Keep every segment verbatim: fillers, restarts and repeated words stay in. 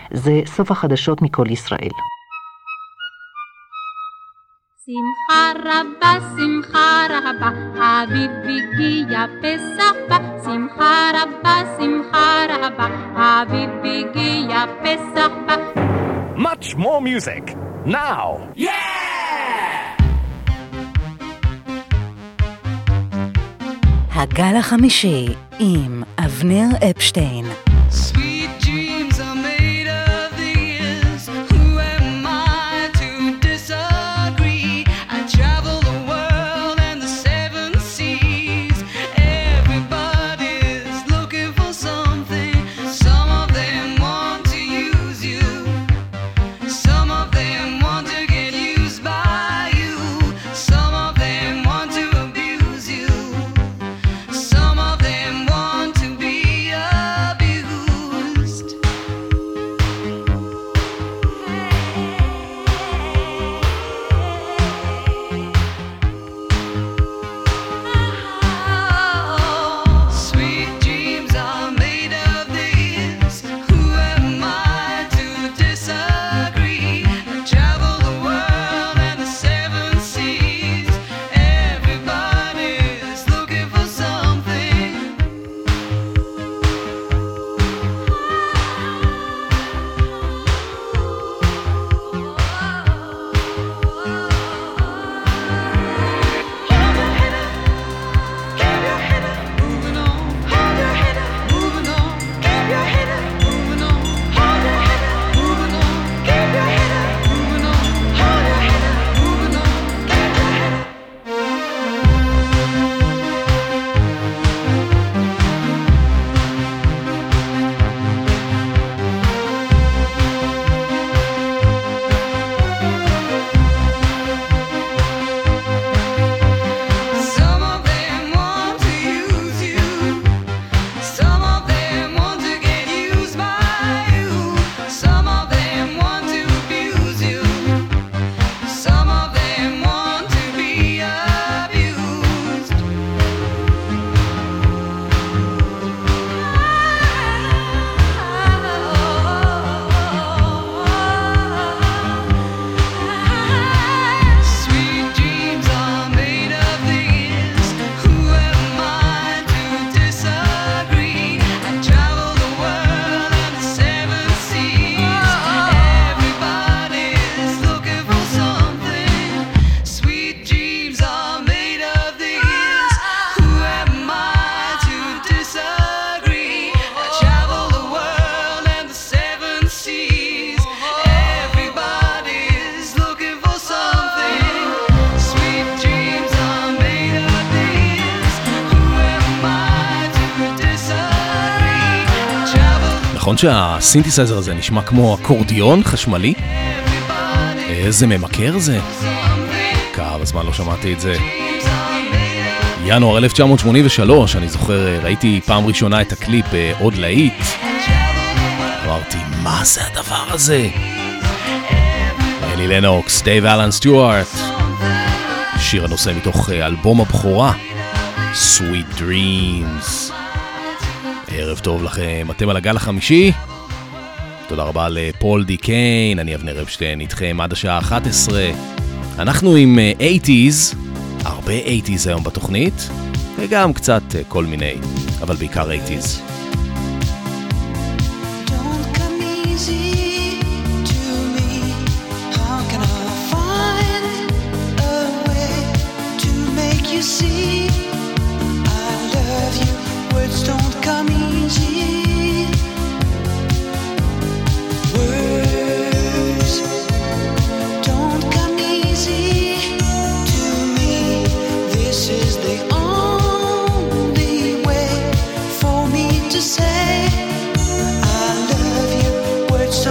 זה סוף החדשות מכל ישראל. שמחה רבה, שמחה רבה, אביב הגיע פסח בא. שמחה רבה, שמחה רבה, אביב הגיע פסח בא. Much more music, now! Yeah! הגל החמישי עם אבנר אפשטיין. Sweet dreams are made of these. Who am I to disagree? I travel the world and the seven seas. Everybody's looking for something. Some of them want to use you. Some of them want to get used by you. Some of them want to abuse you. Some of them want to be abused. Sweet dreams are made of these. Who am I to disagree? I travel the world and the seven seas. Everybody's looking for something. Keep your head up, moving on. Hold your head up, moving on. Keep your head up, moving on. Hold your head up, moving on. Keep your head up, moving on. Hold your head up, moving on. Keep your head up. Some of them want to use you. Some of them want to get used by you. Some of them want to abuse you. Some of them want to be abused. Sweet dreams are made of these. Who am I to disagree? I travel the world and the seven seas. Everybody's looking for something. Sweet dreams are made of these. Who am I to disagree? I travel the world and the seven seas. Everybody's looking for something. Sweet dreams are made of these. Who am I to disagree? I travel נכון שהסינתסייזר הזה נשמע כמו אקורדיון חשמלי? everybody. איזה ממכר זה? כמה זמן לא שמעתי את זה. ינואר אלף תשע מאות שמונים ושלוש, אני זוכר, ראיתי פעם ראשונה את הקליפ עוד להיט. אמרתי, מה זה הדבר הזה? אלי לנוקס, דייב אלן סטיוארט. שיר הנושא מתוך אלבום הבכורה, Sweet Dreams. ערב טוב לכם, אתם על הגל החמישי. תודה רבה לפול די קיין, אני אבנר אפשטיין איתכם עד השעה אחת עשרה. אנחנו עם שמונים, הרבה שמונים היום בתוכנית, וגם קצת כל מיני, אבל בעיקר שמונים. Don't come easy to me. How can I find a way to make you see I love you? Words don't come easy. Words don't come easy to me. This is the only way for me to say I love you. Words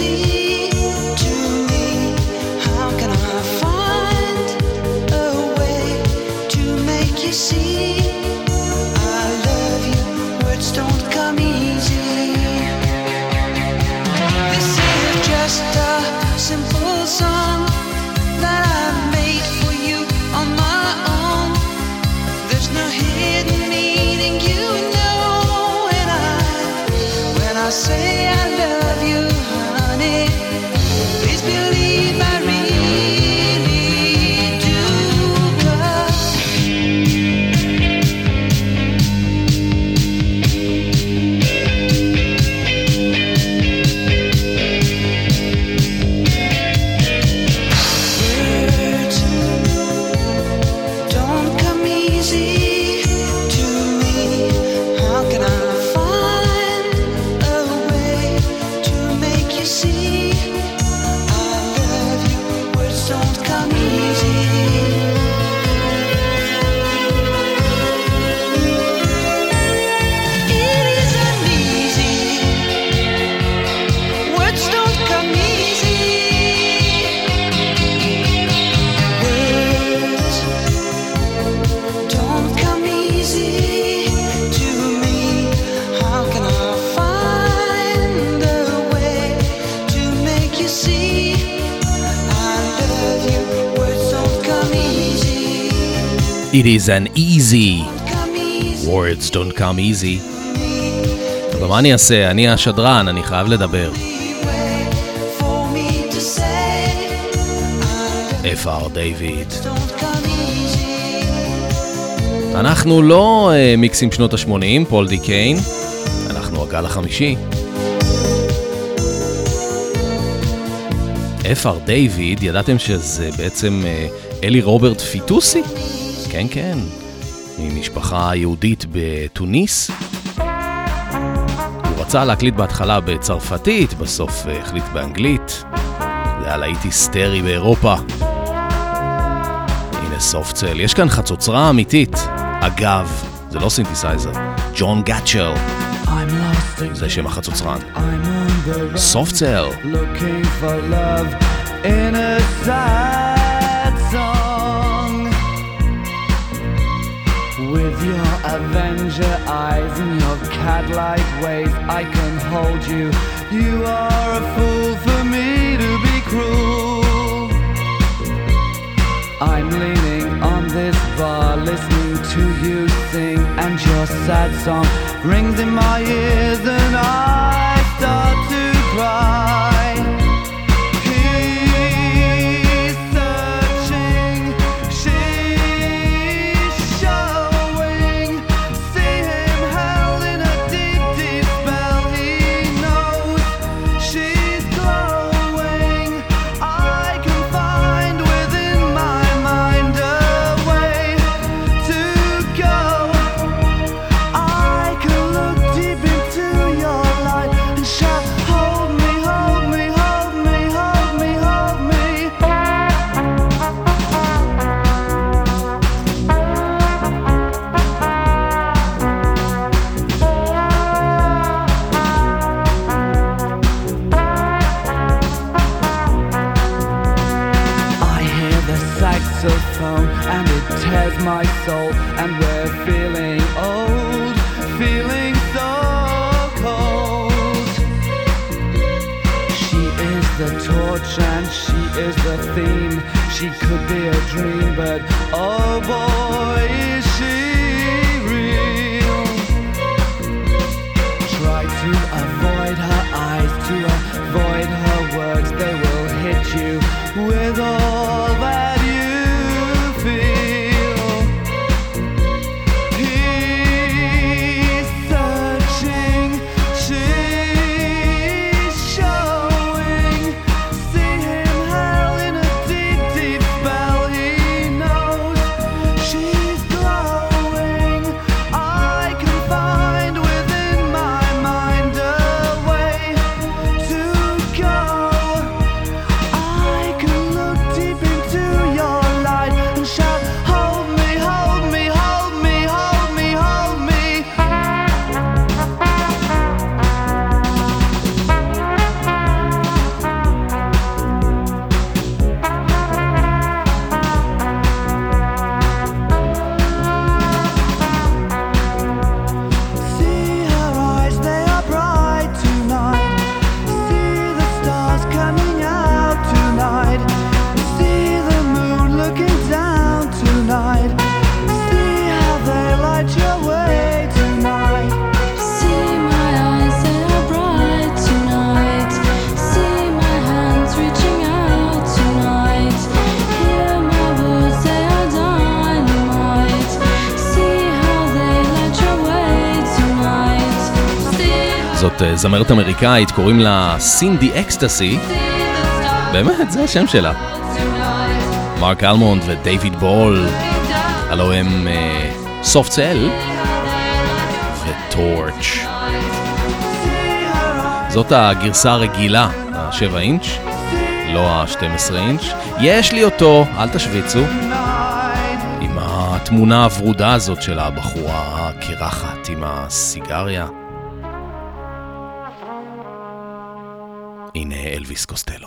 easy to me. How can I find a way to make you see I love you? Words don't come easy. This is just a simple song that I made for you on my own. There's no hidden meaning, you know when I when I say I love you, honey. Please believe I really do. Words don't come easy to me. How can I find a way to make you see I love you? Words don't come easy. It isn't easy. Words don't come easy. Words don't come easy to me. How can I find a way to make you see I love you? Words don't come easy. It is an easy, Come easy words don't come easy. to me. אבל מה אני אעשה? אני השדרן, אני חייב לדבר. Way for me to say I love F R דיוויד. you. Don't come easy. אנחנו לא אה, מיקסים שנות ה-שמונים, פול די קיין. אנחנו הגל החמישי. F R דיוויד, ידעתם שזה בעצם אה, אלי רוברט פיטוסי? כן, כן. ממשפחה יהודית בתוניס. הוא רצה להקליט בהתחלה בצרפתית, בסוף אה, החליט באנגלית. זה היה להיט היסטרי באירופה. הנה סופטסל, יש כאן חצוצרה אמיתית. אגב, זה לא סינתסייזר, ג'ון גאצ'ל, זה שם החצוצרן. סופטסל. Looking for love in a sad song. With your Avenger eyes and your cat-like ways, I can hold you. You are a fool for me to be cruel. I'm leaning on this bar, listening to you sing, and your sad song rings in my ears, and I start to cry. He's searching, she's showing. See him held in a deep, deep spell. He knows she's glowing. I can find within my mind a way to go. I can look deep into your light and shout, hold me, hold me, hold me, hold me, hold me. I hear the saxophone and it tears my soul, and we're feeling old, feeling so cold. She is the torch and she is the theme. She could be a dream, but oh boy, is she real. Try to avoid her eyes, to avoid her words. They will hit you with all that you feel. He's searching, she's showing. See him held in a deep, deep spell. He knows she's glowing. זאת זמרת אמריקאית, קוראים לה סינדי אקסטסי. באמת, זה השם שלה. מרק אלמונד ודייוויד בול, הלו הם סופט סל וטורץ'. זאת הגרסה הרגילה, ה-שבע אינץ', לא ה-שתים עשרה אינץ'. יש לי אותו, אל תשוויצו, עם התמונה הוורודה הזאת של הבחורה הקרחת עם הסיגריה. הנה אלוויס קוסטלו.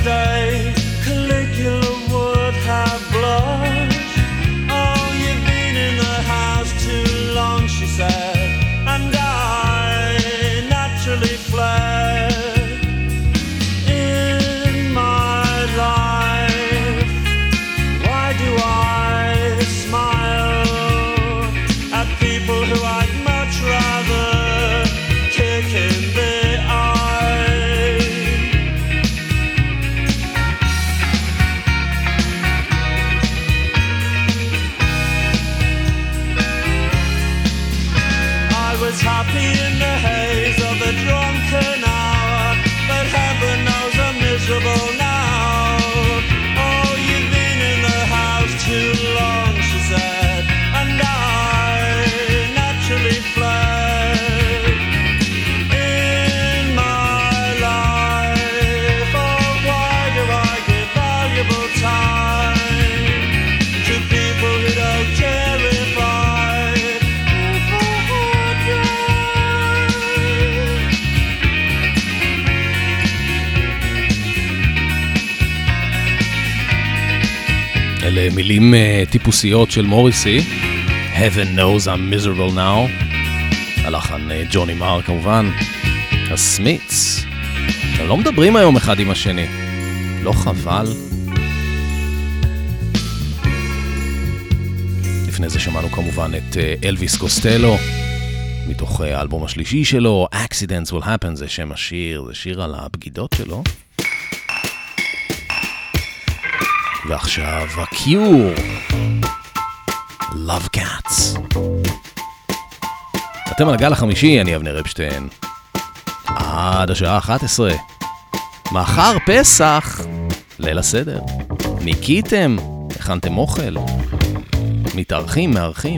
day Caligula would have blushed. Oh, you've been in the house too long, she said, and I naturally fled. In my life, why do I smile at people who I'd much rather kick in the eye? I was happy in the haze of the drunken hour, but heaven knows I'm miserable now. Oh, you've been in the house too long, she said, and I naturally fled. In my life, oh, why do I give valuable time to people who don't care if I, if I had died? אלה מילים uh, טיפוסיות של מוריסי. Heaven knows I'm miserable now. הלחן uh, ג'וני מר כמובן. הסמיץ. הם לא מדברים היום אחד עם השני. לא חבל? לפני זה שמענו כמובן את uh, אלוויס קוסטלו. מתוך uh, האלבום השלישי שלו, Accidents Will Happen, זה שם השיר, זה שיר על הבגידות שלו. ועכשיו הקיור, Love Cats. אתם על הגל החמישי, אני אבנר אפשטיין. עד השעה אחת עשרה. מחר פסח, ליל הסדר. ניקיתם, הכנתם אוכל. מתארחים, מארחים.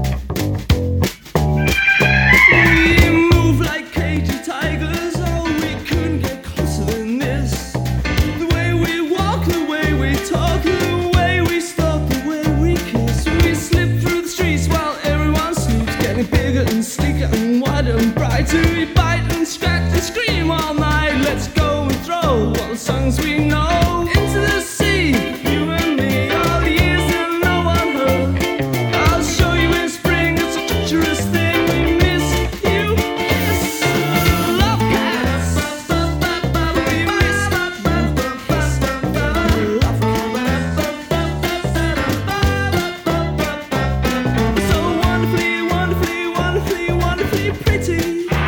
To bite and scratch and scream all night. Let's go and throw all the songs we know into the sea. You and me, all the years that no one heard. I'll show you in spring, it's a treacherous thing. We miss you, yes. Love cats. We miss love cats. So wonderfully, wonderfully, wonderfully, wonderfully pretty.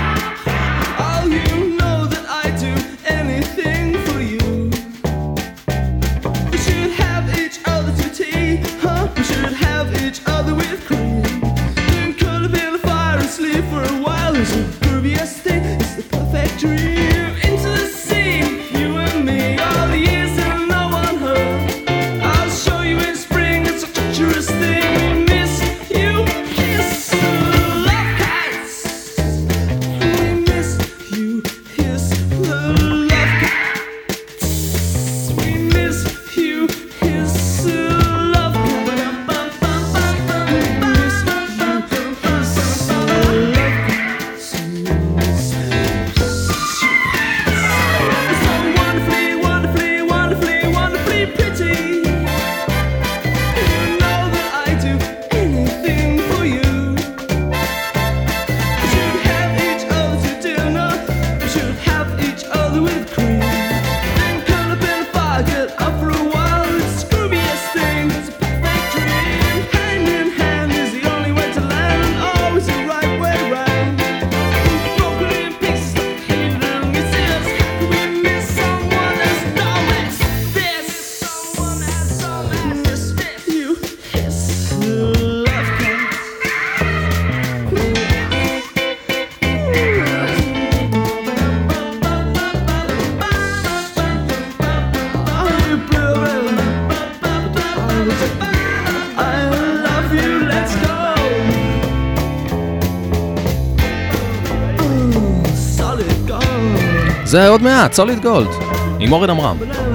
זה עוד מעט, סוליד גולד, עם אורן אמרם.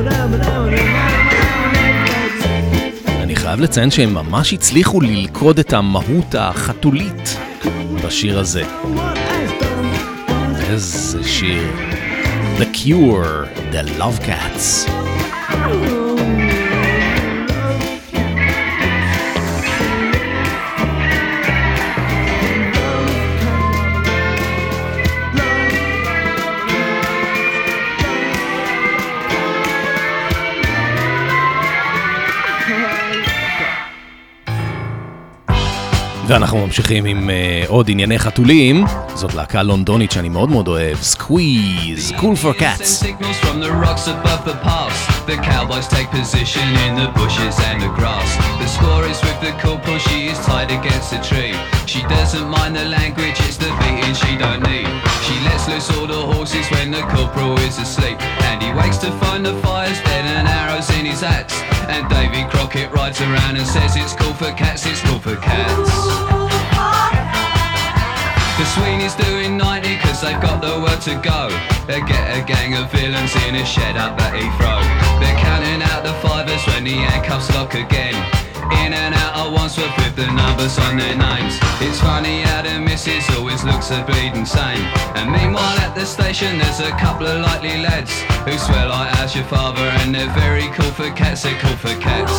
אני חייב לציין שהם ממש הצליחו ללכוד את המהות החתולית בשיר הזה. איזה שיר. The Cure, The Love Cats. ואנחנו ממשיכים עם uh, עוד ענייני חתולים. זאת להקה לונדונית שאני מאוד מאוד אוהב, Squeeze, Cool for Cats. Signals from the rocks above the pass. The cowboys take position in the bushes and the grass. The score is with the corporal, she is tied against a tree. She doesn't mind the language, it's the beating she don't need. She lets loose all the horses when the corporal is asleep. And he wakes to find the fire's dead and arrows in his axe. And Davy Crockett rides around and says it's cool for cats, it's cool for cats. The Sweeney's doing ninety cause they've got the word to go. They get a gang of villains in a shed up at Heathrow. They're counting out the fivers when the handcuffs lock again. In and out at Wandsworth with the numbers on their names. It's funny how the missus always looks a bleeding sane. And meanwhile at the station there's a couple of likely lads who swear like how's your father, and they're very cool for cats, they're cool for cats.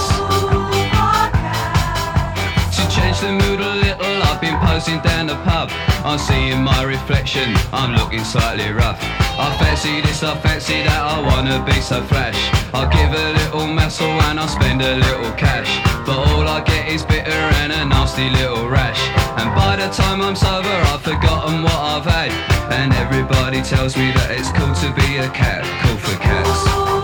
To change the mood a little, I've been posing down the pub. I'm seeing my reflection, I'm looking slightly rough. I fancy this, I fancy that, I wanna be so flash. I'll give a little muscle and I'll spend a little cash. But all I get is bitter and a nasty little rash. And by the time I'm sober I've forgotten what I've had. And everybody tells me that it's cool to be a cat, cool for cats.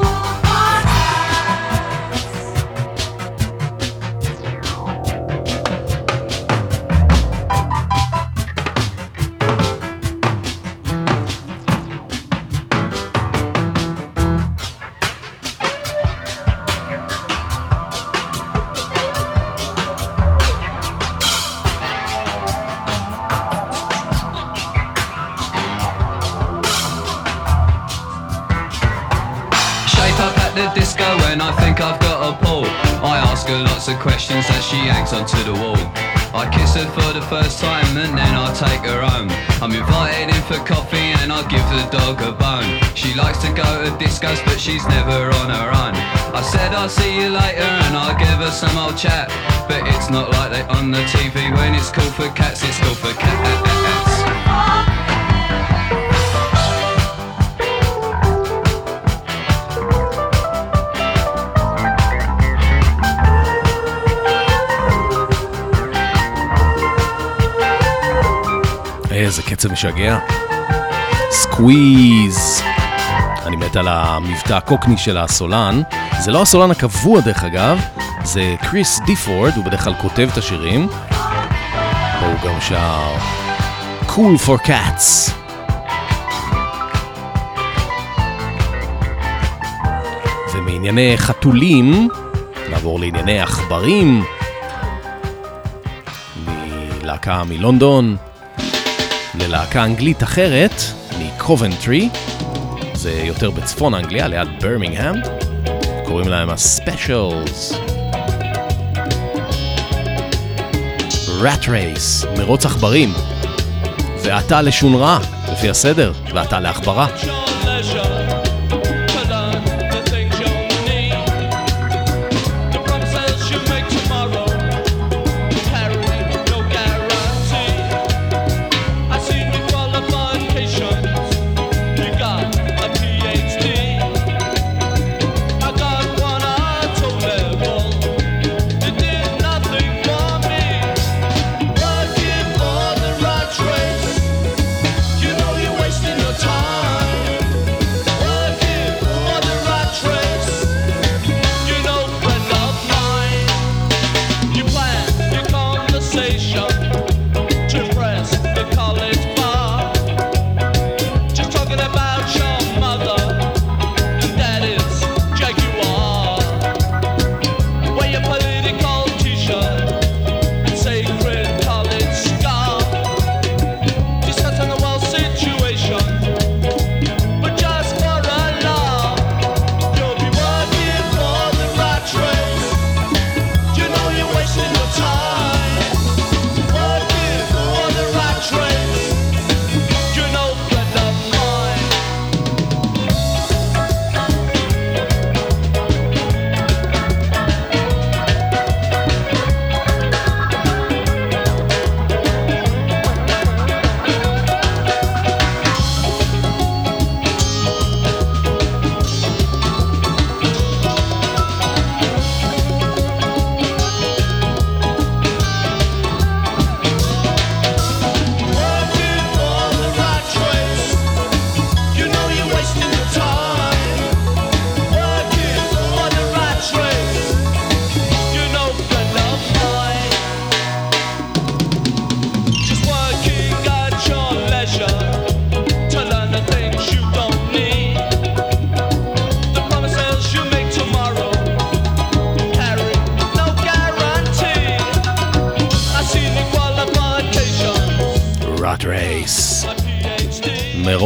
Lots of questions as she hangs onto the wall. I kiss her for the first time and then I take her home. I'm invited in for coffee and I give the dog a bone. She likes to go to discos but she's never on her own. I said I'll see you later and I'll give her some old chat. But it's not like they on the T V when it's cool for cats, it's cool for cats. איזה קצב משגע. סקוויז. אני מת על המבטא הקוקני של הסולן. זה לא הסולן הקבוע דרך אגב, זה קריס דיפורד, הוא בדרך כלל כותב את השירים. והוא גם שר Cool for Cats. ומענייני חתולים נעבור לענייני עכברים. מלהקה מלונדון ללהקה אנגלית אחרת, מקובנטרי, זה יותר בצפון אנגליה, ליד ברמינגהם, קוראים להם הספיישלס. rat race, מרוץ עכברים, ואתה לשון רע, לפי הסדר, ואתה לעכברה. Time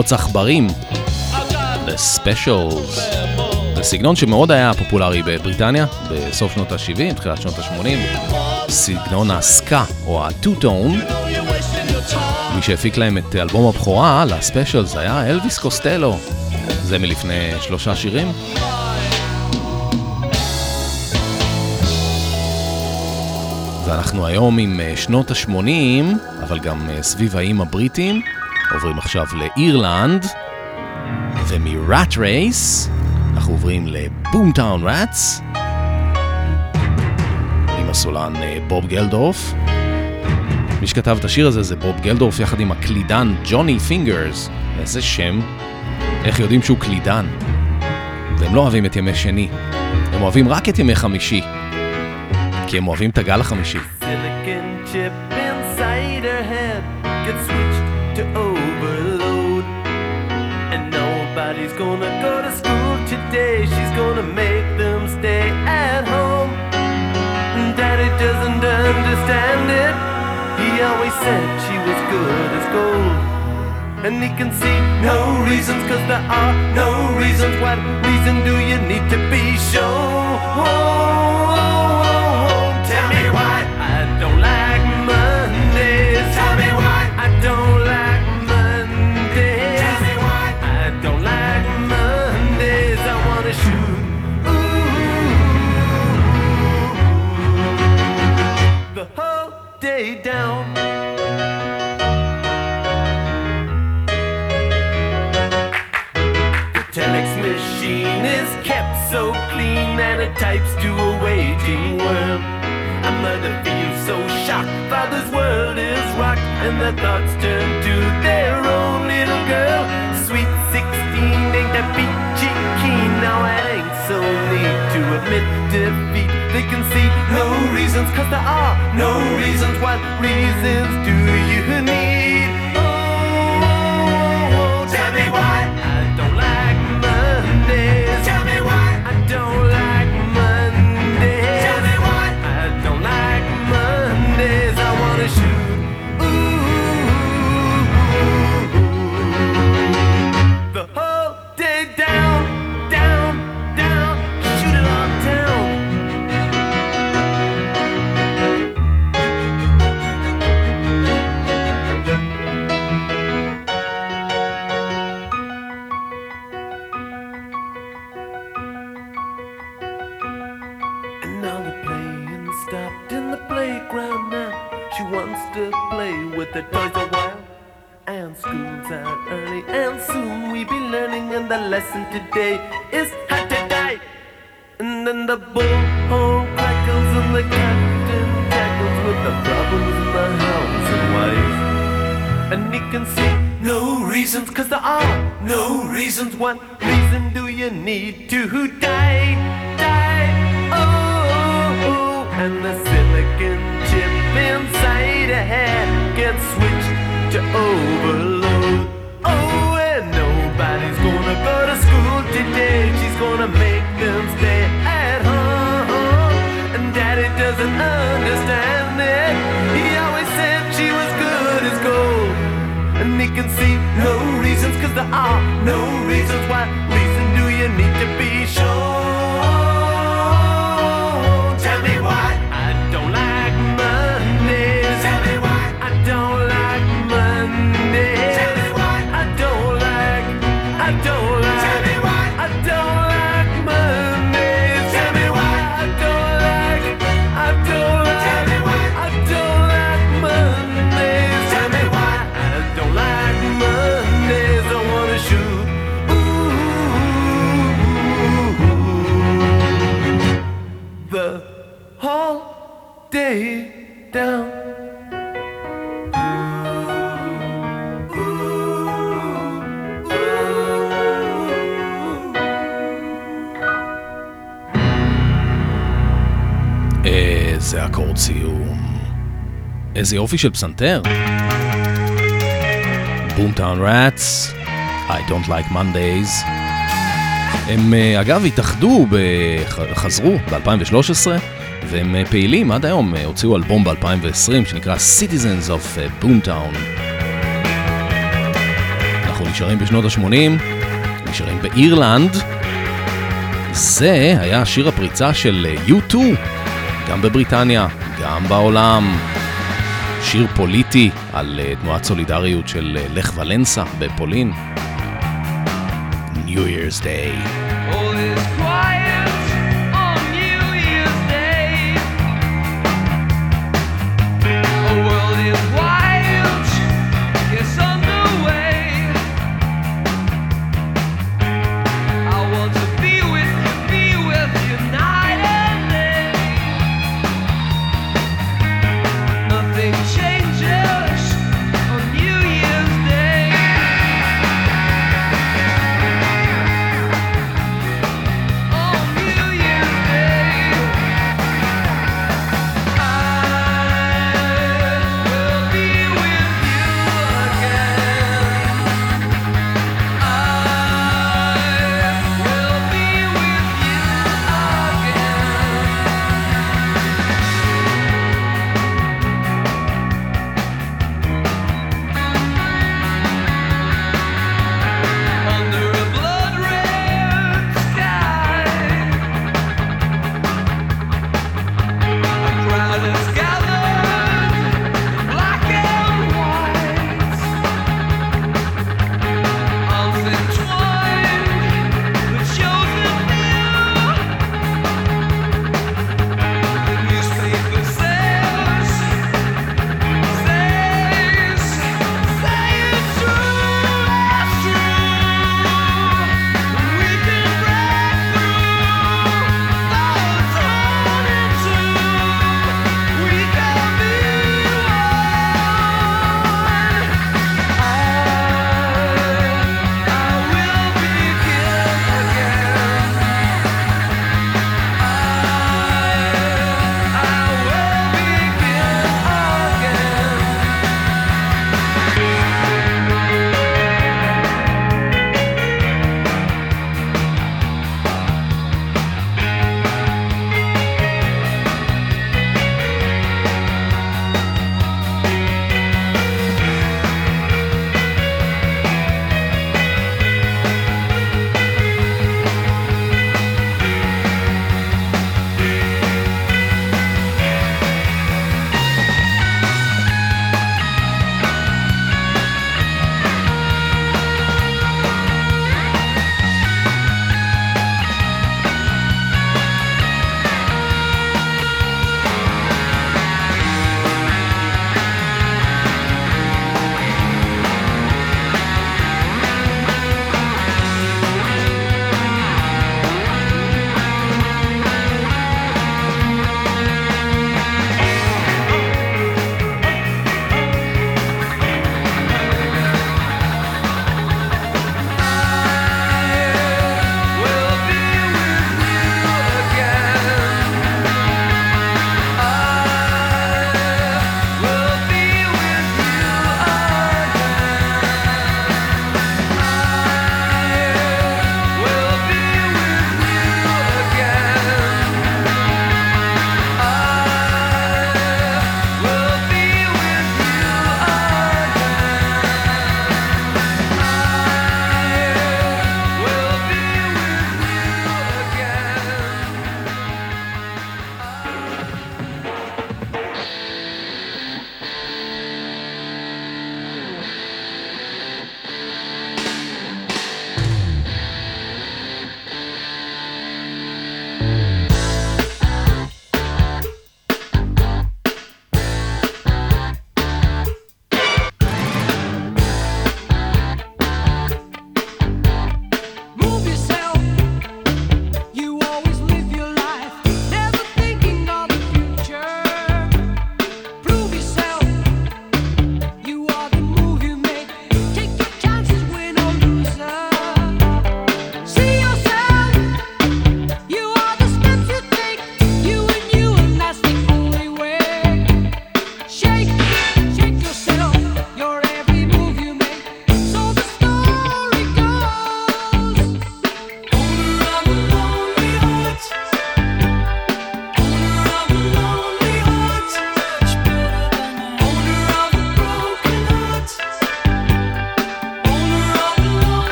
מרוץ עכברים, The Specials. זה סגנון שמאוד היה פופולרי בבריטניה בסוף שנות ה-שבעים, תחילת שנות ה-שמונים. סגנון הסקה או הטו-טון. מי שהפיק להם את אלבום הבכורה ל-Specials היה אלוויס קוסטלו. זה מלפני שלושה שירים. ואנחנו היום עם שנות ה-שמונים, אבל גם סביב האיים הבריטים. עוברים עכשיו לאירלנד, ומ-Rat Race אנחנו עוברים לבומטאון ראטס, עם הסולן בוב גלדורף. מי שכתב את השיר הזה זה בוב גלדורף יחד עם הקלידן ג'וני פינגרס. איזה שם, איך יודעים שהוא קלידן? והם לא אוהבים את ימי שני, הם אוהבים רק את ימי חמישי, כי הם אוהבים את הגל החמישי. Silicon chip inside her head gets switched to overload, and nobody's gonna go to school today. She's gonna make them stay at home. Daddy doesn't understand it. He always said she was good as gold, and he can see no reasons, 'cause there are no reasons. What reason do you need to be shown? Tell me why I don't like Mondays. Tell me why I don't like Mondays. Tell me why I don't like Mondays. I wanna shoot ooh, the whole day down. The telex machine is kept so clean, and it types to a waging world. A mother feels so shocked, father's world is rocked, and their thoughts turn to their own little girl. Sweet sixteen ain't that peachy keen. Now it ain't so neat to admit defeat. They can see no reasons, 'cause there are no reasons. What reasons do you need? Oh, tell me why I don't like Mondays. Tell me why I don't like Mondays. Tell me why I don't like Mondays. I wanna shoot ooh, the whole day down, down, down, shoot it all down. And now the playing stopped in the playground now. She wants to play with the toys a while. And school's out early, and soon we be learning, and the lesson today is how to die. And then the bullhorn crackles and the captain tackles with the problems in the house and wife. And he can see no reasons, 'cause there are no reasons. What reason do you need to die? Die, oh, oh. And the silicon chip inside her head gets switched to overload. Oh, and nobody's gonna go to school today. She's gonna make them stay at home, and Daddy doesn't understand it. He always said she was good as gold, and he can see no reasons, 'cause there are no reasons. What reason do you need to be sure? Tell me why I don't like Mondays. Tell me why I don't like Mondays. Tell me why I don't like, I don't like, tell me why I don't like Mondays. Tell me why I don't like, I don't like, tell me why I don't like Mondays. Tell me why I don't like Mondays. I wanna shoot ooh, the whole day down. איזה אקורד סיום, איזה יופי של פסנתר. בומטאון ראטס, I don't like Mondays. הם אגב התאחדו, חזרו ב-אלפיים ושלוש עשרה, והם פעילים עד היום, הוציאו אלבום ב-אלפיים ועשרים שנקרא Citizens of Boomtown. אנחנו נשארים בשנות ה-שמונים, נשארים באירלנד. זה היה שיר הפריצה של יו טו, גם בבריטניה, גם בעולם. שיר פוליטי על תנועת סולידריות של לך ולנסה בפולין. New Year's Day. All is quiet on New Year's Day. The world is wild, it's underway. I want to be with you, be with you night and day. Nothing changes on New Year's Day.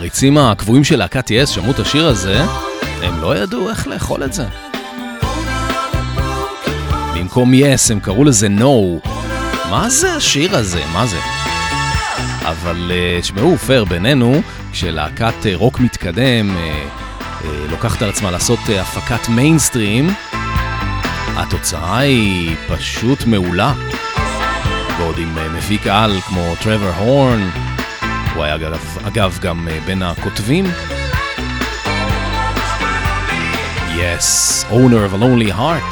המעריצים הקבועים של להקת יס שמעו את השיר הזה, הם לא ידעו איך לאכול את זה. במקום יס הם קראו לזה נו. מה זה השיר הזה? מה זה? אבל תשמעו, פייר בינינו, כשלהקת רוק מתקדם לוקחת על עצמה לעשות הפקת מיינסטרים, התוצאה היא פשוט מעולה. ועוד עם מפיק על כמו טרוור הורן, הוא היה אגב, אגב גם בין הכותבים. Yes, owner of a lonely heart.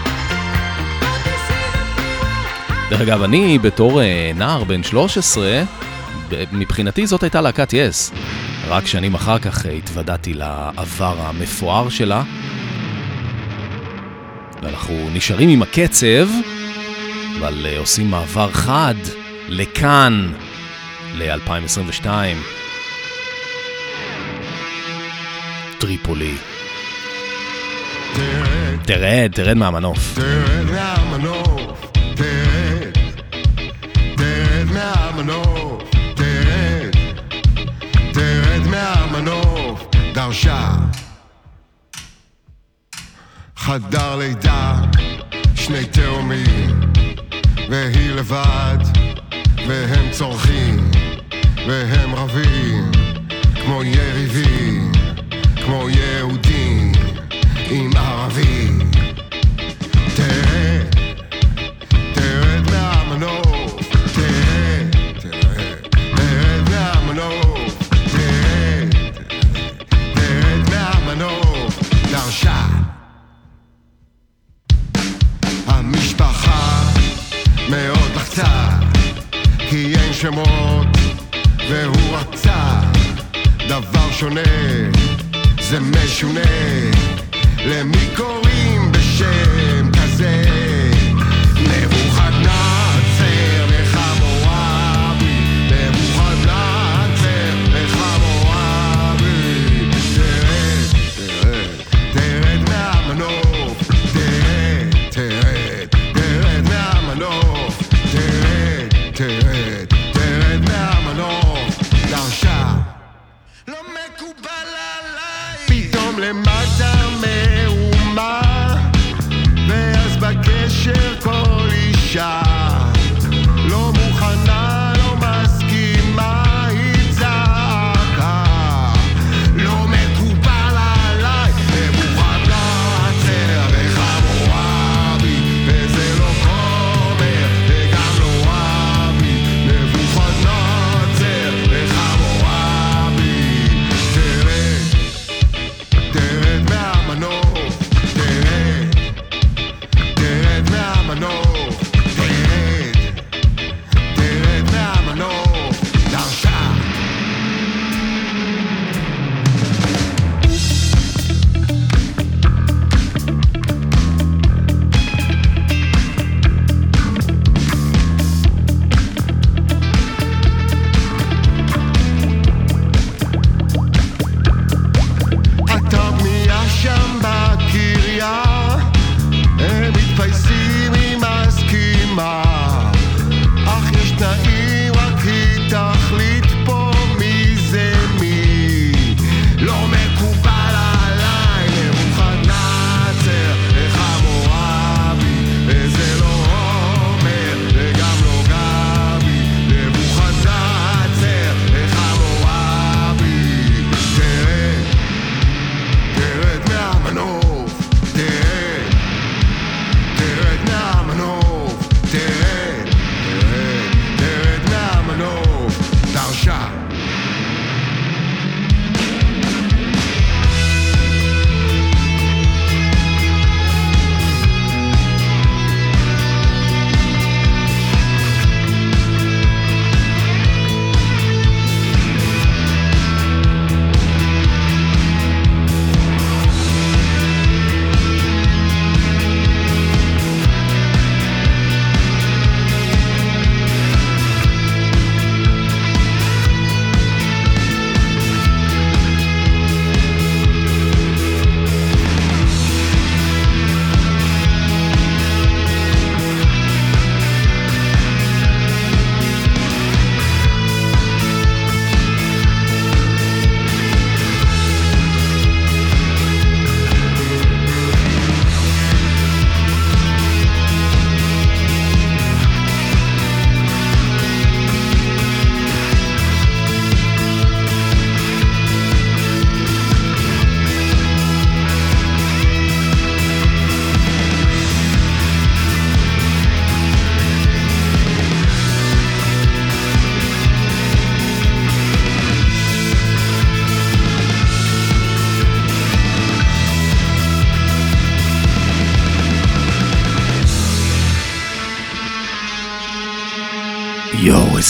דרך אגב, אני בתור נער בן שלוש עשרה, מבחינתי זאת הייתה להקת יס. רק שנים אחר כך התוודעתי לעבר המפואר שלה. ואנחנו נשארים עם הקצב, אבל עושים מעבר חד לכאן, ל-אלפיים עשרים ושתיים. טריפולי. תרד, תרד מהמנוף. תרד מהמנוף, תרד, תרד מהמנוף, תרד, תרד מהמנוף, דרשה. חדר לידה, שני תאומים, והיא לבד, והם צורכים, והם רבים, כמו יריבים, כמו יהודים, עם ערבי. תרד, תרד מהמנוף, תרד, תרד, תרד מהמנוף, תרד, תרד מהמנוף, דרשה. המשפחה מאוד לחצה, כי אין שמות והוא רצה דבר שונה, זה משונה, למי קוראים בשם כזה? נבוכדנצר וחמורבי, נבוכדנצר וחמורבי. תרד, תרד, תרד מהמנוף, תרד, תרד, תרד מהמנוף, תרד, תרד, תרד מהמנוף, דרשה. לא מקובל עליי, פתאום למטה מהומה,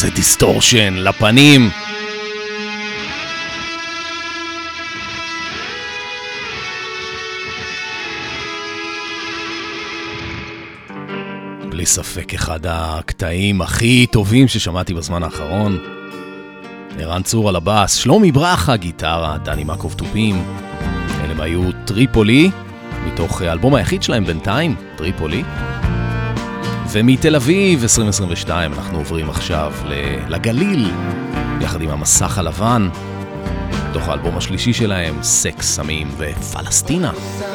עושה דיסטורשן לפנים. בלי ספק אחד הקטעים הכי טובים ששמעתי בזמן האחרון. ערן צור על הבאס, שלומי ברכה גיטרה, דני מקוב טופים. אלה היו טריפולי, מתוך האלבום היחיד שלהם בינתיים, טריפולי. ומתל אביב עשרים עשרים ושתיים אנחנו עוברים עכשיו לגליל, יחד עם המסך הלבן, מתוך האלבום השלישי שלהם, סקס, סמים ופלסטינה.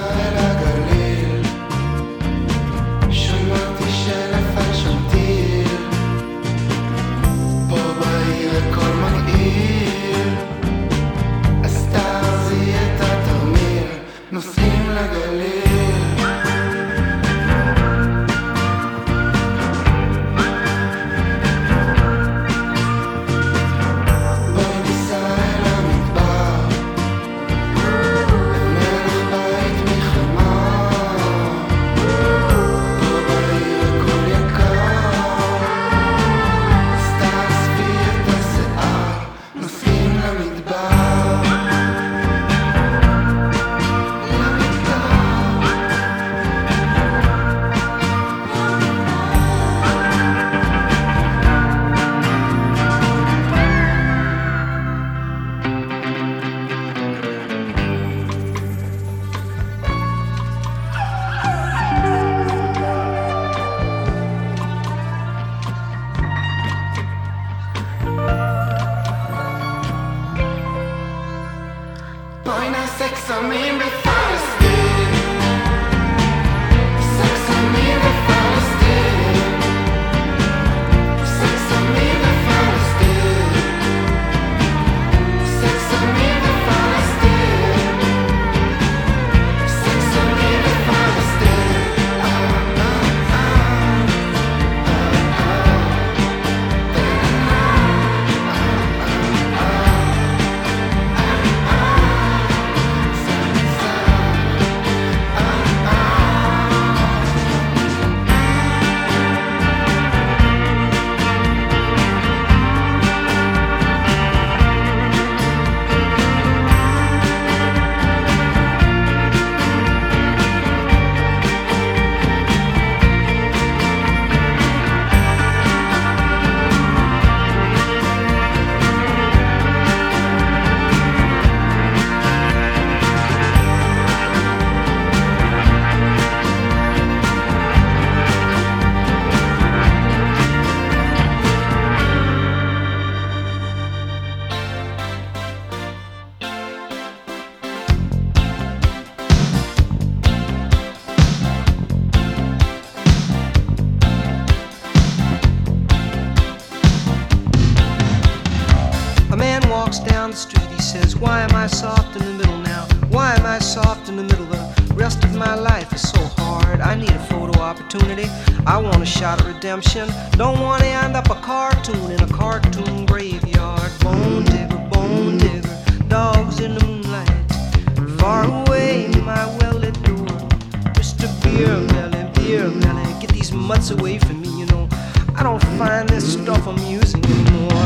Don't want to end up a cartoon in a cartoon graveyard. Bone digger, bone digger, dogs in the moonlight. Far away, my well-lit door. Mister Beer Belly, Beer Belly, get these mutts away from me, you know. I don't find this stuff amusing anymore.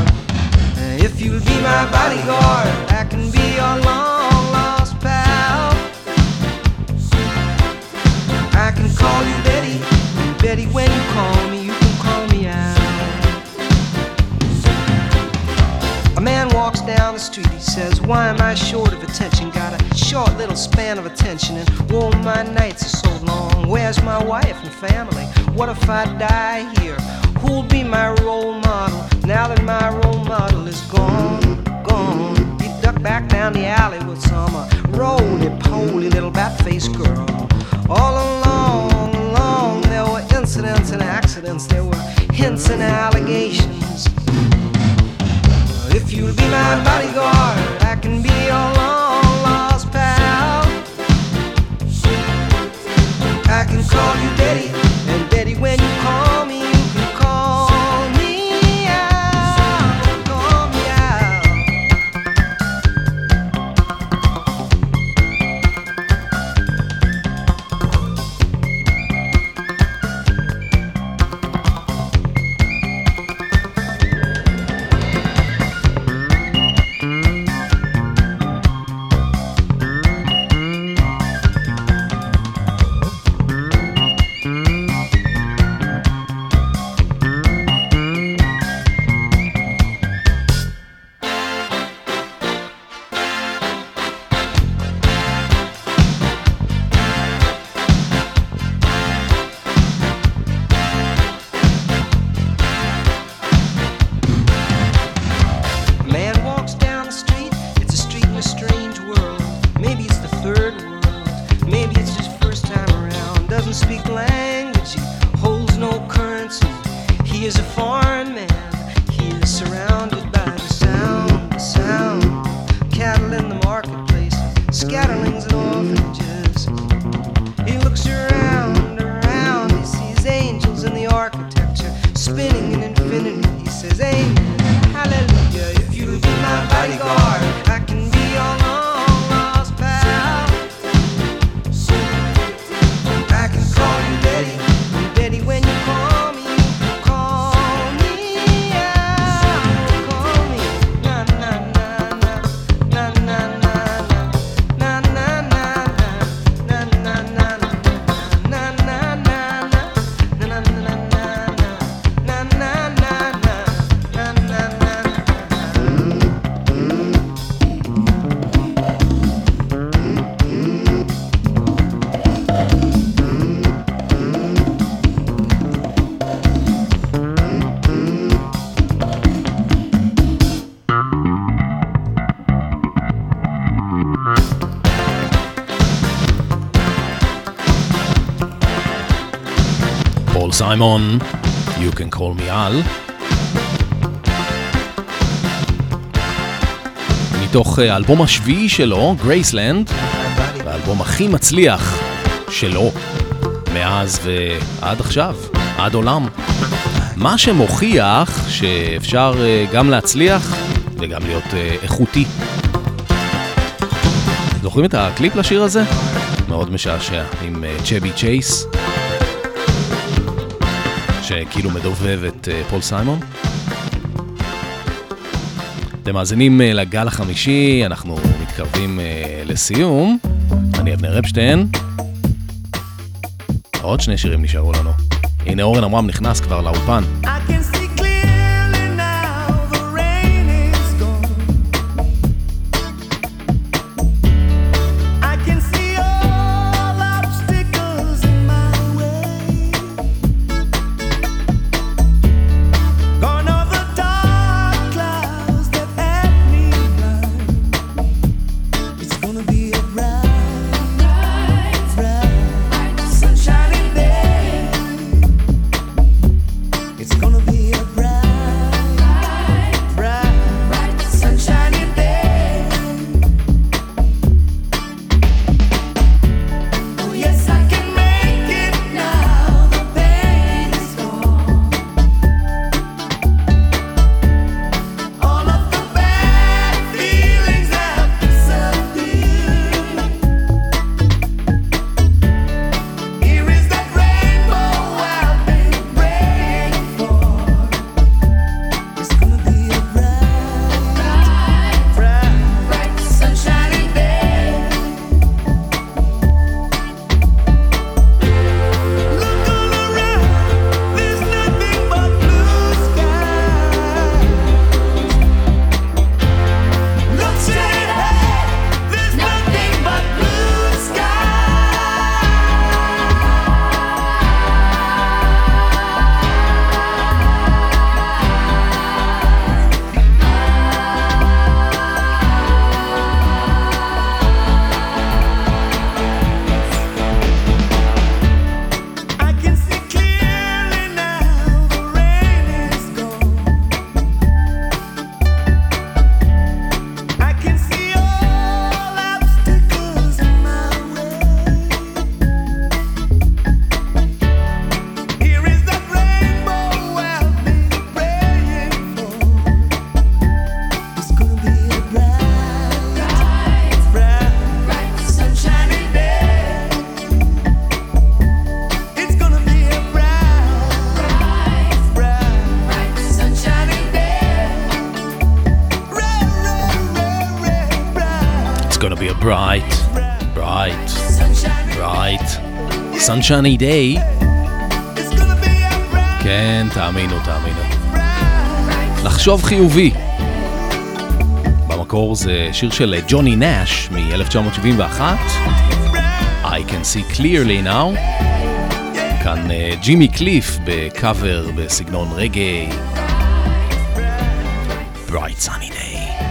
If you'll be my bodyguard, I can be your long-lost pal. I can call you Betty, Betty when you call me. Walks down the street, he says, why am I short of attention? Got a short little span of attention, and oh, my nights are so long. Where's my wife and family? What if I die here? Who'll be my role model now that my role model is gone, gone? He ducked back down the alley with some uh, roly-poly little bat-faced girl. All along, along, there were incidents and accidents, there were hints and allegations. If you'll be my bodyguard, I can be your long-lost pal. I can call you Betty, and Betty, when you call me, you can call me out, call me out. פול סיימון, You Can Call Me Al. מתוך האלבום השביעי שלו, גרייסלנד, האלבום הכי מצליח שלו מאז ועד עכשיו, עד עולם. מה שמוכיח שאפשר גם להצליח וגם להיות איכותי. זוכרים את הקליפ לשיר הזה? מאוד משעשע, עם צ'בי צ'ייס, שכאילו מדובב את פול סיימון. אתם מאזינים לגל החמישי, אנחנו מתקרבים לסיום. אני אבנר אפשטיין. עוד שני שירים נשארו לנו. הנה אורן עמרם נכנס כבר לאולפן. bright, bright, bright, sunshiny day. כן, תאמינו, תאמינו. לחשוב חיובי. במקור זה שיר של ג'וני נאש מ-אלף תשע מאות שבעים ואחת. I can see clearly now. כאן ג'ימי קליף בקאבר בסגנון רגעי. Bright sunny day.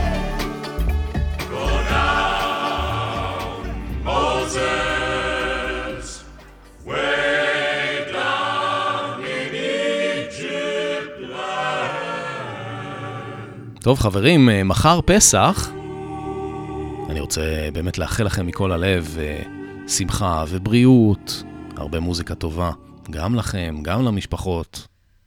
טוב חברים, מחר פסח, אני רוצה באמת לאחל לכם מכל הלב שמחה ובריאות, הרבה מוזיקה טובה, גם לכם, גם למשפחות.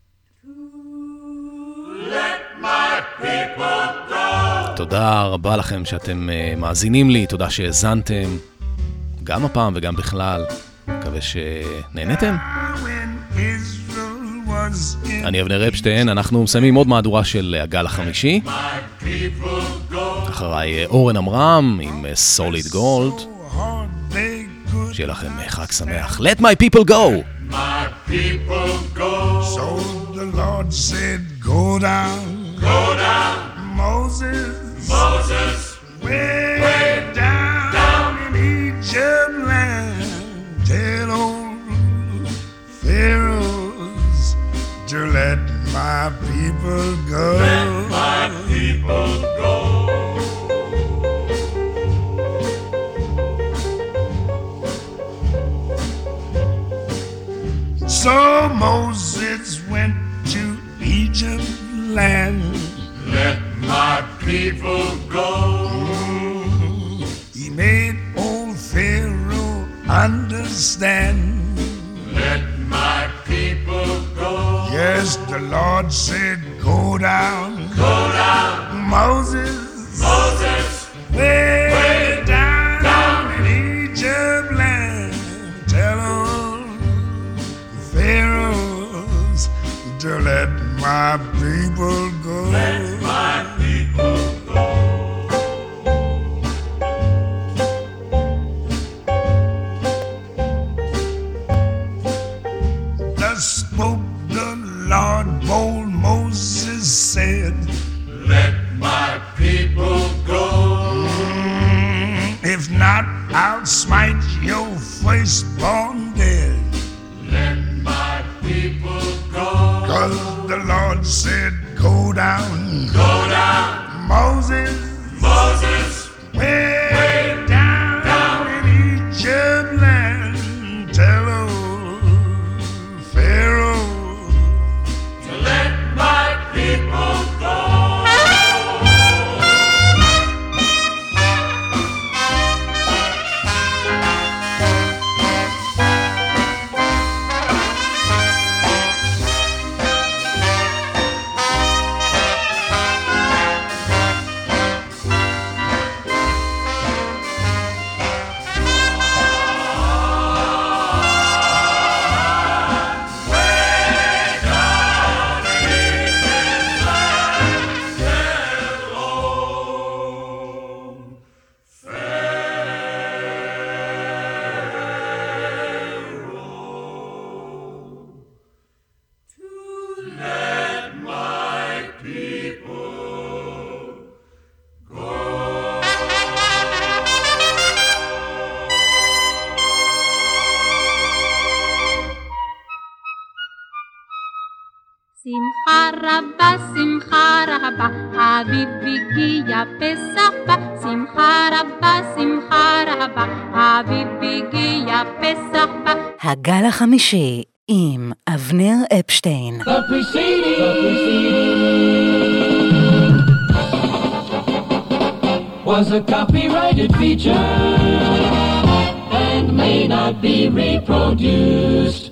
תודה רבה לכם שאתם מאזינים לי, תודה שהזנתם, גם הפעם וגם בכלל, מקווה שנהנתם. אני אבנר אפשטיין, אנחנו מסיימים עוד מהדורה של הגל החמישי. אחריי אורן עמרם עם סוליד גולד. שיהיה לכם חג שמח. Let my people go! My people go. So the Lord said, go down. Go down. Moses. Moses. Way, way down, down in Egypt land. Tell old Pharaoh to let my people go. Let my people go. So Moses went to Egypt land. Let my people go. He made old Pharaoh understand. Let my people go. Yes, the Lord said, go down. Go down. Moses. Moses. Way, way down, down in Egypt land. Tell all Pharaohs to let my people go. Let my people go. Thus spoke the Lord, bold Moses said, let my people go. Mm, if not, I'll smite your firstborn dead. Let my people go. Cause the Lord said, go down. Go down. Moses. Moses. Way, way down, down in Egypt land. Tell old Pharaoh to let my people go. שמחה רבה, שמחה רבה, אביב הגיע, פסח בא. שמחה רבה, שמחה רבה, אביב הגיע, פסח בא. הגל החמישי עם אבנר אפשטיין. The preceding, the preceding was a copyrighted feature and may not be reproduced.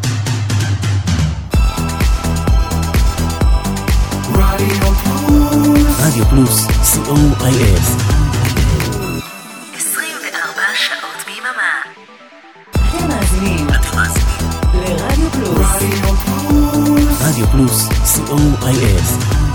רדיו פלוס, סי או איי אס. עשרים וארבע שעות ביממה. אתם מאזינים לרדיו פלוס. רדיו פלוס, סי או איי אס.